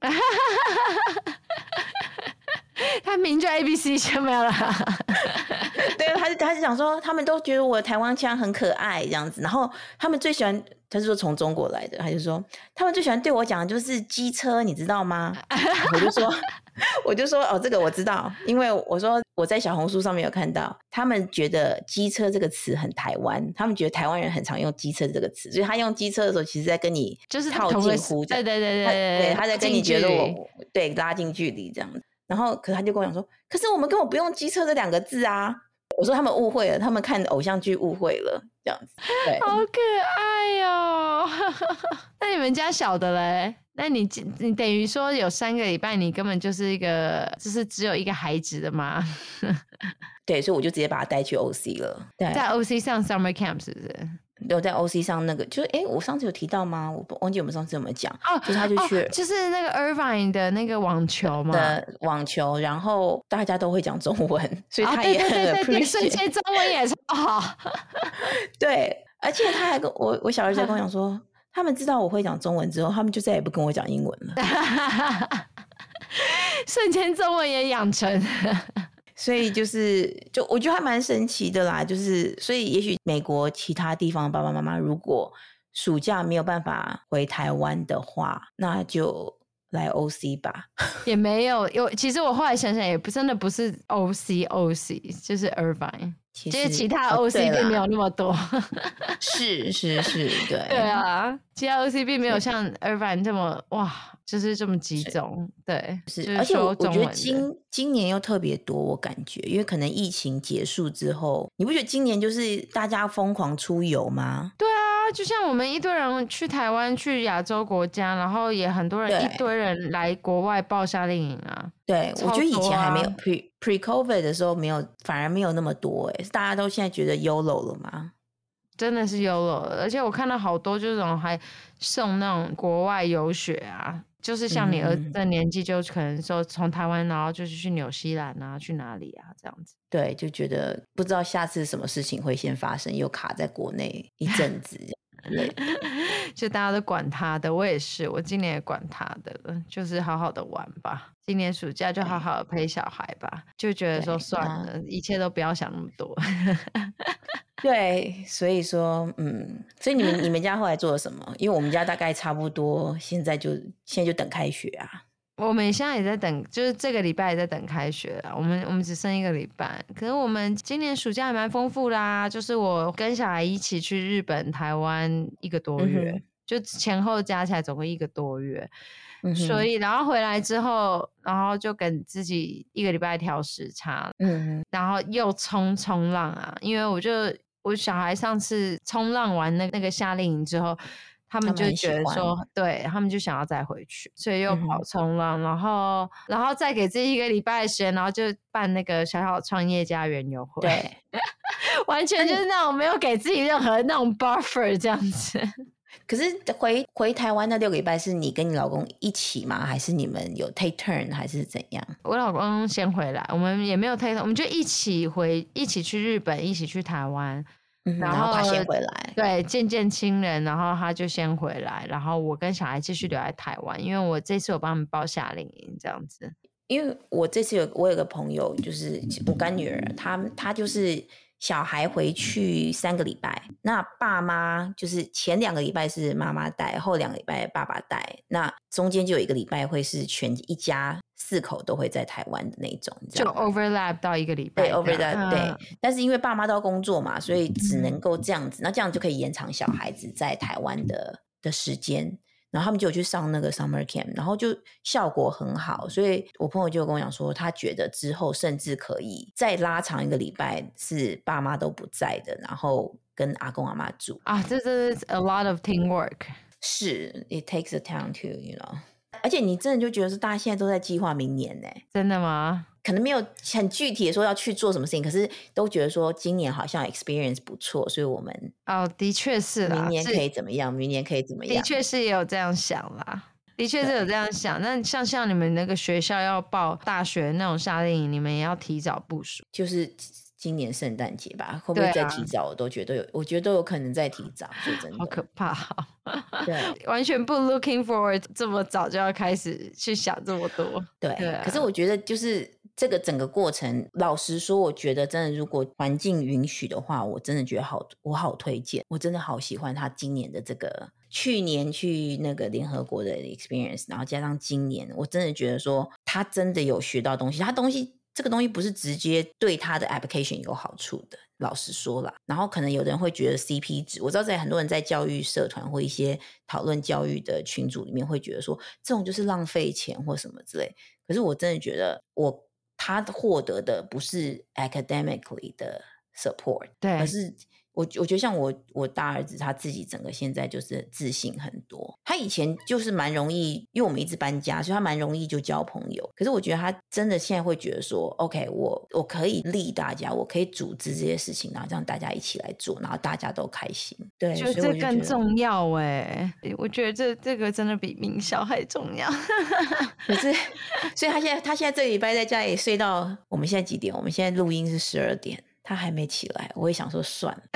Speaker 1: 他明就 ABC 就沒有了。
Speaker 2: 對，他是講說，他們都覺得我的台灣腔很可愛這樣子，然後他們最喜歡，他是說從中國來的，他就說他們最喜歡對我講的就是機車，你知道嗎？我就說哦，這個我知道，因為我說我在小紅書上面有看到，他們覺得機車這個詞很台灣，他們覺得台灣人很常用機車這個詞，所以他用機車的時候，其實在跟你就是套近乎，對，他在跟你覺得對拉近距離這樣子。然後可是他就跟我講說，可是我們根本不用機車這2個字啊。我說他們誤會了，他們看偶像劇誤會了這樣子。對，
Speaker 1: 好可愛哦。那你們家小的嘞？那你等於說有3個禮拜你根本就是就是只有一個孩子的嗎？
Speaker 2: 對，所以我就直接把他帶去 OC 了。對，
Speaker 1: 在 OC 上 summer camp 是不是？
Speaker 2: 有在 OC 上那個，就是我上次有提到嗎？我忘記我们上次有沒有講哦，就是他就去
Speaker 1: 就是那個 Irvine 的那個網球嘛，
Speaker 2: 的網球，然後大家都會講中文，所以他也很 appreciate，
Speaker 1: 對，瞬間中文也超好。
Speaker 2: 對，而且他還跟我小兒子跟我講說，他們知道我會講中文之後，他們就再也不跟我講英文了。
Speaker 1: 瞬間中文也養成。
Speaker 2: 所以就我覺得還蠻神奇的啦，所以也許美國其他地方的爸爸媽媽如果暑假沒有辦法回台灣的話，那就來 OC 吧。也沒有，
Speaker 1: 其實我後來想想也真的不是 OC 就是 Irvine， 其他 OC 並沒有那麼多。
Speaker 2: 是，对。
Speaker 1: 對啊，其他 OC 並沒有像 Irvine 這麼哇。就是這麼集中，對，
Speaker 2: 是，而且我覺得今年又特別多，我感覺，因為可能疫情結束之後，你不覺得今年就是大家瘋狂出遊嗎？
Speaker 1: 對啊，就像我們一堆人去台灣、去亞洲國家，然後也很多人一堆人來國外報夏令營啊。對，
Speaker 2: 我覺得以前還沒有 pre-COVID 的時候沒有，反而沒有那麼多大家都現在覺得 YOLO 了嗎？
Speaker 1: 真的是 YOLO，而且我看到好多這種還送那種國外遊學啊。就是像你兒子的年紀，就可能說從台灣，然後就是去紐西蘭啊，去哪裡啊，這樣子。對，就覺得不知道下次什麼事情會先發生，又卡在國內一陣子這樣。就大家都管他的，我也是，我今年也管他的，就是好好的玩吧。今年暑假就好好的陪小孩吧，就覺得說算了，一切都不要想那麼多。对，所以說，所以你們家後來做了什麼？因為我們家大概差不多，現在就等開學啊。我們現在也在等，就是這個禮拜也在等開學啦。我們只剩1個禮拜，可是我們今年暑假還蠻豐富啦。就是我跟小孩一起去日本、台灣1個多月，就前後加起來總共1個多月。所以然後回來之後，然後就跟自己1個禮拜調時差，然後又衝浪啊，因為我小孩上次衝浪完那個夏令營之後，他們就覺得說，對，他們就想要再回去，所以又跑衝浪，然後再給自己1個禮拜的時間，然後就辦那個小小創業家園遊會，對，完全就是那種沒有給自己任何那種 buffer 這樣子。可是回台灣那6個禮拜是你跟你老公一起嗎？還是你們有 take turn 還是怎樣？我老公先回來，我們也沒有 take turn，我們就一起去日本，一起去台灣，然後他先回來，對，見親人，然後他就先回來，然後我跟小孩繼續留在台灣，因為我這次有幫他們報夏令營這樣子。因為我這次我有個朋友，就是我乾女兒，她就是
Speaker 2: 小孩回去3個禮拜，那爸媽就是前2個禮拜是媽媽帶，後2個禮拜爸爸帶，那中間就有1個禮拜會是全一家4口都會在台灣的那種，你知道嗎？
Speaker 1: 就 overlap 到1個禮拜。
Speaker 2: 對 overlap 對，但是因為爸媽都要工作嘛，所以只能夠這樣子，那這樣就可以延長小孩子在台灣的時間。然後他們就有去上那個 summer camp， 然後就效果很好，所以我朋友就跟我講說，他覺得之後甚至可以再拉長1個禮拜，是爸媽都不在的，然後跟阿公阿嬤住
Speaker 1: 啊，這是 a lot of teamwork。
Speaker 2: 是 ，it takes a time to you know， 而且你真的就覺得是大家现在都在計劃明年呢？
Speaker 1: 真的嗎？
Speaker 2: 可能沒有很具體的說要去做什麼事情，可是都覺得說今年好像 experience 不錯，所以我們
Speaker 1: 的確是啦，
Speaker 2: 明年可以怎麼樣？明年可以怎麼樣？
Speaker 1: 的確是也有這樣想啦，的確是有這樣想。那像你們那個學校要報大學那種夏令營，你們也要提早部署。
Speaker 2: 就是今年聖誕節吧，會不會再提早？我都覺得我覺得都有可能再提早。說真的，
Speaker 1: 好可怕
Speaker 2: 对，
Speaker 1: 完全不 looking forward， 這麼早就要開始去想這麼多。
Speaker 2: 对，可是我覺得就是這個整個過程，老實說，我覺得真的，如果環境允許的話，我真的覺得我好推薦，我真的好喜歡他今年的這個，去年去那個聯合國的 experience， 然後加上今年，我真的覺得說他真的有學到東西，這個東西不是直接對他的 application 有好處的，老實說啦。然後可能有的人會覺得 CP 值，我知道在很多人在教育社團或一些討論教育的群組裡面會覺得說這種就是浪費錢或什麼之類，可是我真的覺得他獲得的不是 academically 的 support，
Speaker 1: 對，
Speaker 2: 而是我覺得像我大兒子他自己整個現在就是自信很多，他以前就是蠻容易，因為我們一直搬家，所以他蠻容易就交朋友，可是我覺得他真的現在會覺得說 OK， 我可以lead大家，我可以組織這些事情，然後讓大家一起來做，然後大家都開心。對，
Speaker 1: 就这更重要耶，我覺得這個真的比名校還重要。
Speaker 2: 可是所以他現在這個禮拜在家裡睡到我們現在幾點？我們現在錄音是12點，他還沒起來，我也想說算了，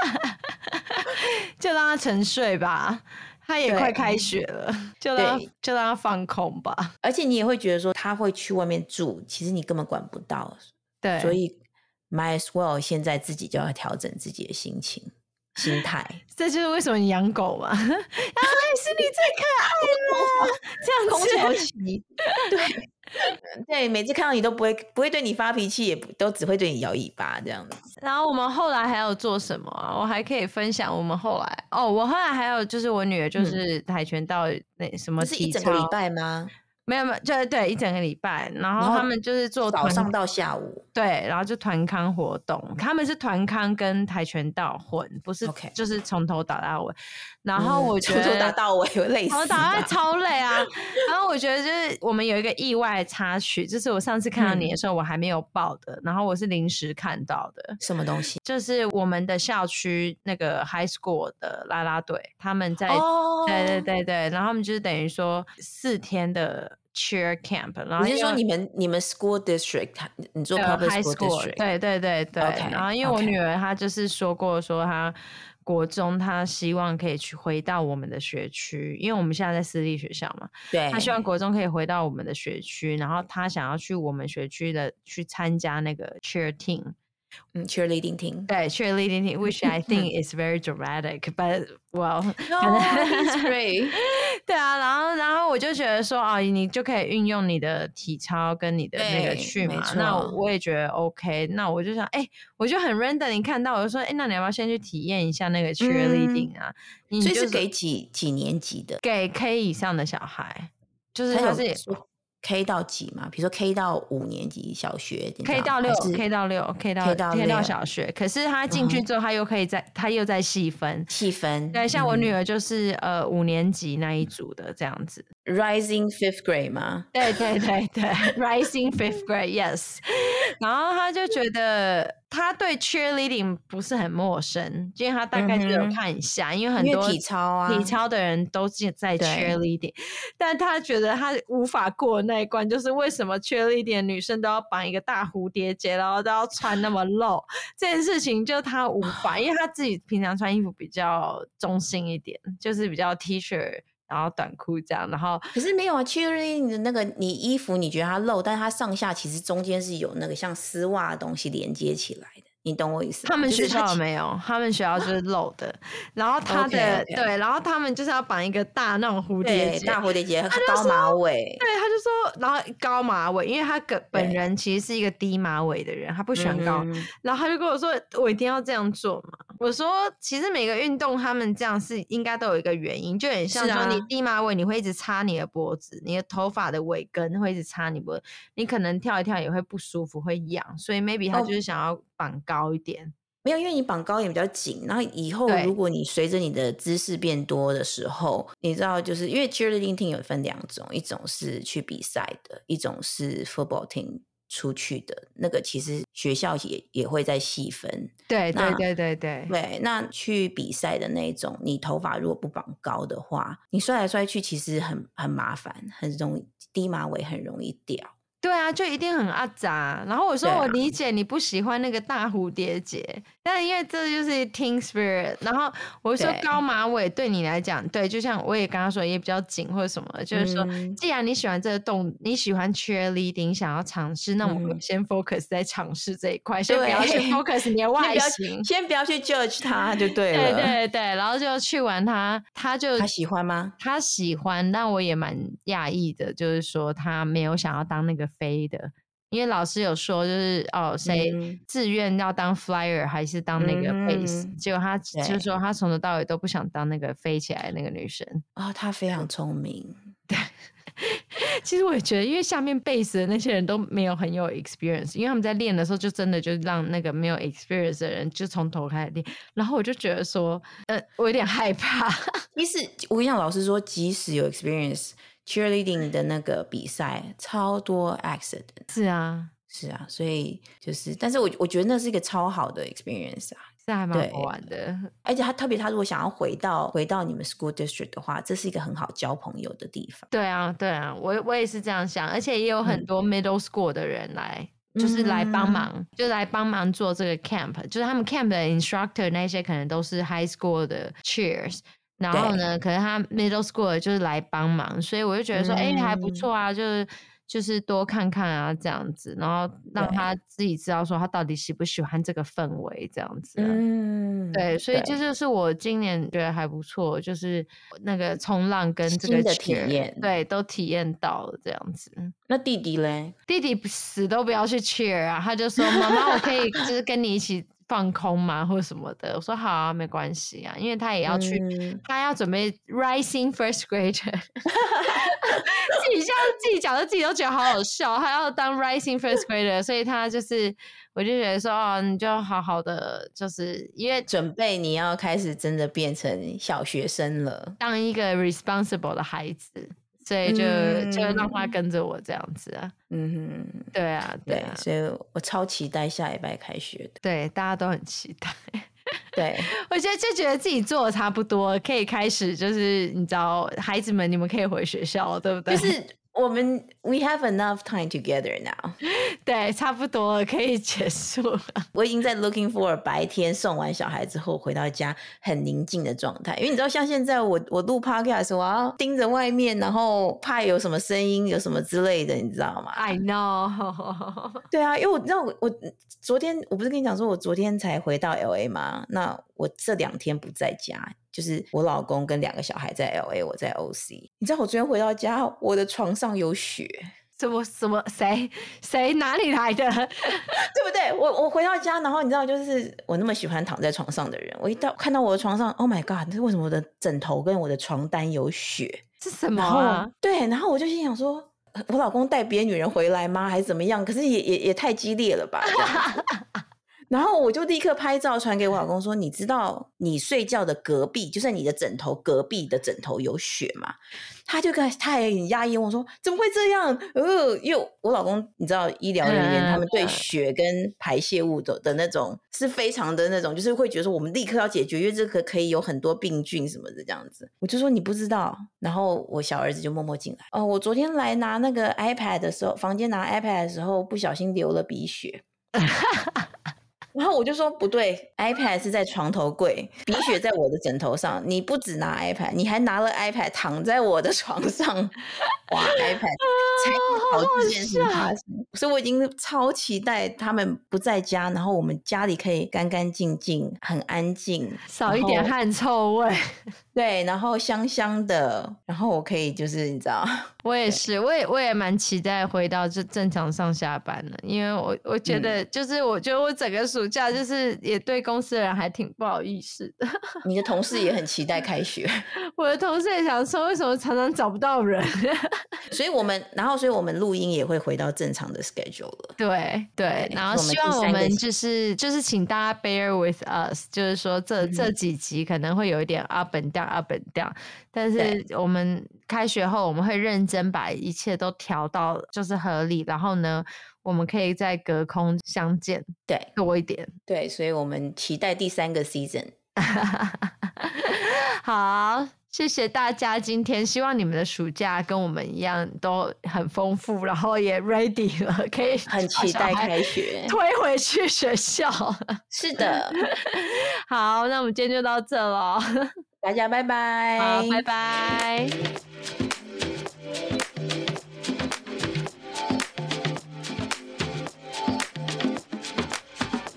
Speaker 1: 就讓他沉睡吧。他也快開學了，就讓他放空吧。
Speaker 2: 而且你也會覺得說他會去外面住，其實你根本管不到。
Speaker 1: 對，
Speaker 2: 所以 might as well 現在自己就要調整自己的心態。
Speaker 1: 這就是為什麼你養狗嘛。是你最可愛了，這樣子。
Speaker 2: 空巢期，對，每次看到你都不會對你發脾氣，也都只會對你搖尾巴這樣子。
Speaker 1: 然後我們後來還有做什麼啊？我還可以分享我們後來我後來還有就是我女兒就是跆拳道那什麼體操，
Speaker 2: 這是1整個禮拜嗎？
Speaker 1: 沒有，就對1整個禮拜，然後他們就是做
Speaker 2: 早上到下午，
Speaker 1: 對，然後就團康活動，他們是團康跟跆拳道混，不是就是從頭打到尾。然後我覺得
Speaker 2: 從頭打到尾有累死，
Speaker 1: 從头打到尾超累啊。然後我覺得就是我們有一個意外插曲，就是我上次看到你的時候我還沒有報的，然後我是臨時看到的。
Speaker 2: 什麼東西？
Speaker 1: 就是我們的校區那個 high school 的啦啦隊，他們在對，然後他們就是等於說4天的 cheer camp， 然後
Speaker 2: 你是說你們 school district， 你做 public school district？
Speaker 1: 对， okay, 然後因為我女兒她就是說過說她國中她希望可以回到我們的學區，因為我們現在在私立學校嘛，
Speaker 2: 對，
Speaker 1: 她希望國中可以回到我們的學區，然後她想要去我們學區的去參加那個 cheer team。cheerleading
Speaker 2: team，
Speaker 1: 對 cheerleading team which I think is very dramatic but well
Speaker 2: it's great
Speaker 1: 對啊，然後我就覺得說你就可以運用你的體操跟你的那個去嘛，那我也覺得 OK， 那我就想我就很 random， 你看到我就說那你要不要先去體驗一下那個 cheerleading 啊？
Speaker 2: 所以是給幾年級的？
Speaker 1: 給 K 以上的小孩，就是他是
Speaker 2: K 到幾嘛？比如說 K 到5年級小學
Speaker 1: ，K 到6 ，K 到6 ，K 到小學。可是他進去之後，他又再細分。对，像我女兒就是5年級那一組的這樣子。
Speaker 2: Rising 5th grade 嗎？
Speaker 1: 對 ，Rising 5th grade，yes。然後他就覺得他對 cheerleading 不是很陌生，因為他大概就有看一下，因為很多
Speaker 2: 體操的
Speaker 1: 人都在 cheerleading， 但他覺得他無法過那一關，就是為什麼 cheerleading 的女生都要綁一個大蝴蝶結，然後都要穿那麼露，這件事情就他無法，因為他自己平常穿衣服比較中性一點，就是比較 T 恤。然後短褲這樣，然後
Speaker 2: 可是沒有啊 cheerleading 的那個你衣服你覺得它露，但是它上下其實中間是有那個像絲襪的東西連接起來的， 你懂我意思嗎？
Speaker 1: 他們學校沒有，他們學校就是露的。然後他的對，然後他們就是要綁一個大那種蝴蝶結，
Speaker 2: 大蝴蝶結，高馬尾。
Speaker 1: 对，他就说，然後高馬尾，因為他本人其實是一個低馬尾的人，他不喜歡高。然後他就跟我說，我一定要這樣做嘛。我說，其實每個運動他們這樣是應該都有一個原因，就很像說你低馬尾，你會一直擦你的脖子，你的頭髮的尾根會一直擦你脖子，你可能跳一跳也會不舒服，會癢，所以 maybe 他就是想要綁高一點。
Speaker 2: 沒有，因為你綁高一點比較緊，然後以後如果你隨着你的姿勢變多的時候，你知道，就是因為 cheerleading team 有分2種，一種是去比賽的，一種是 football team 出去的。那個其實學校也會再細分。对，那去比賽的那種，你頭髮如果不綁高的話，你摔來摔去其實很麻煩，很容易低馬尾很容易掉。
Speaker 1: 对啊，就一定很阿雜。然後我說我理解你不喜歡那個大蝴蝶結，但因為這就是 team spirit。然後我說高馬尾對你來講，對，就像我也剛剛說也比較緊或者什麼，就是說既然你喜歡這個動，你喜歡 cheerleading， 想要嘗試，那我們先 focus 在嘗試這一塊，先不要去 focus 你的外形，
Speaker 2: 先不要去 judge 他就對了。
Speaker 1: 對，然後就去玩他
Speaker 2: 喜歡嗎？他
Speaker 1: 喜歡，但我也蠻訝異的，就是說他沒有想要當那個飛的，因為老師有說就是誰自願要當 flyer 還是當那個 base，結果他就是說他從頭到尾都不想當那個飛起來的那個女生。
Speaker 2: 他非常聰明。
Speaker 1: 对，其實我也覺得，因為下面 base 的那些人都沒有很有 experience， 因為他們在練的時候就真的就讓那個沒有 experience 的人就從頭開始練，然後我就覺得說我有點害怕。
Speaker 2: 其實我跟你講，老師說即使有 experience cheerleading 的那個比賽超多 accident。是啊，所以就是，但是我覺得那是一個超好的 experience 啊，
Speaker 1: 是還蠻好玩的。
Speaker 2: 而且他如果想要回到你們 school district 的話，這是一個很好交朋友的地方。
Speaker 1: 對啊，我也是這樣想，而且也有很多 middle school 的人來。就是來幫忙，就來幫忙做這個 camp，就是他們 camp 的 instructor 那些可能都是 high school 的 cheers。然後呢，可能他 middle school 就是來幫忙，所以我就覺得說，還不錯啊，就是多看看啊，這樣子，然後讓他自己知道說他到底喜不喜歡這個氛圍，這樣子。對，所以這就是我今年覺得還不錯，就是那個衝浪跟這個 cheer， 新的體驗，對，都體驗到了這樣子。
Speaker 2: 那弟弟嘞？弟
Speaker 1: 弟死都不要去 cheer 啊，他就說媽媽，我可以就是跟你一起放空嗎或什麼的。我說好啊，沒關係啊，因為他也要去，他要準備 rising first grader。自己講的自己都覺得好好笑，他要當 rising first grader， 所以他就是我就覺得說你就好好的，就是因為
Speaker 2: 準備你要開始真的變成小學生了，
Speaker 1: 當一個 responsible 的孩子，所以就讓他跟着我這樣子啊。對啊，
Speaker 2: 所以我超期待下禮拜開學的。
Speaker 1: 對，大家都很期待。
Speaker 2: 对，
Speaker 1: 我觉得自己做的差不多，可以開始，就是你知道，孩子們你們可以回學校，對不對？
Speaker 2: 就是我們 we have enough time together now。
Speaker 1: 對，差不多了，可以結束了。
Speaker 2: 我已經在 looking for 白天送完小孩之後回到家很寧靜的狀態，因為你知道，像現在我錄 podcast， 我要盯着外面，然後怕有什麼聲音，有什麼之類的，你知道嗎
Speaker 1: ？I know。
Speaker 2: 對啊，因為我知道我昨天我不是跟你講說我昨天才回到 LA 嗎？那我這2天不在家，就是我老公跟2個小孩在 LA， 我在 OC。你知道我昨天回到家，我的床上有雪。
Speaker 1: 什麼誰哪裡來的？
Speaker 2: 對不對？我回到家，然後你知道，就是我那麼喜歡躺在床上的人，我看到我的床上 ，Oh my God！ 為什麼我的枕頭跟我的床單有雪？
Speaker 1: 是什麼啊？
Speaker 2: 對，然後我就心想說，我老公帶別的女人回來嗎？還是怎麼樣？可是也太激烈了吧？然後我就立刻拍照傳給我老公說，你知道你睡覺的隔壁，就是你的枕頭隔壁的枕頭有雪嗎？他也很壓抑，我說怎麼會這樣？因為我老公你知道醫療人員他們對雪跟排泄物的那種是非常的那種，就是會覺得說我們立刻要解決，因為這個可以有很多病菌什麼的這樣子。我就說你不知道，然後我小兒子就默默進來。我昨天來拿那個 iPad 的時候，房間拿 iPad 的時候不小心流了鼻血。然後我就說不對， iPad 是在床頭櫃，鼻血在我的枕頭上，你不只拿 iPad， 你還拿了 iPad 躺在我的床上，哇 iPad 才好這件事發生。 所以我已經超期待他們不在家，然後我們家裡可以乾乾淨淨，很安靜，
Speaker 1: 少一點汗臭味。
Speaker 2: 对，然後香香的，然後我可以就是你知道，
Speaker 1: 我也是，我也蠻期待回到就正常上下班了，因為我覺得就是我觉得我整個暑假就是也對公司的人還挺不好意思的。
Speaker 2: 你的同事也很期待開學，
Speaker 1: 我的同事也想說為什麼常常找不到人。
Speaker 2: 所以我們錄音也會回到正常的 schedule 了。
Speaker 1: 對，然後希望我們就是請大家 bear with us， 就是說這幾集可能會有一點 up and down， 但是我們開學後我們會認真把一切都調到就是合理，然後呢我們可以在隔空相見，
Speaker 2: 對，
Speaker 1: 多一點。
Speaker 2: 對，所以我們期待第3個 season。
Speaker 1: 好，謝謝大家今天，希望你們的暑假跟我們一樣都很豐富，然後也 ready 了，可以
Speaker 2: 很期待開學，
Speaker 1: 推回去學校。
Speaker 2: 是的。
Speaker 1: 好，那我們今天就到這了，
Speaker 2: 大家拜拜。
Speaker 1: 好，拜拜。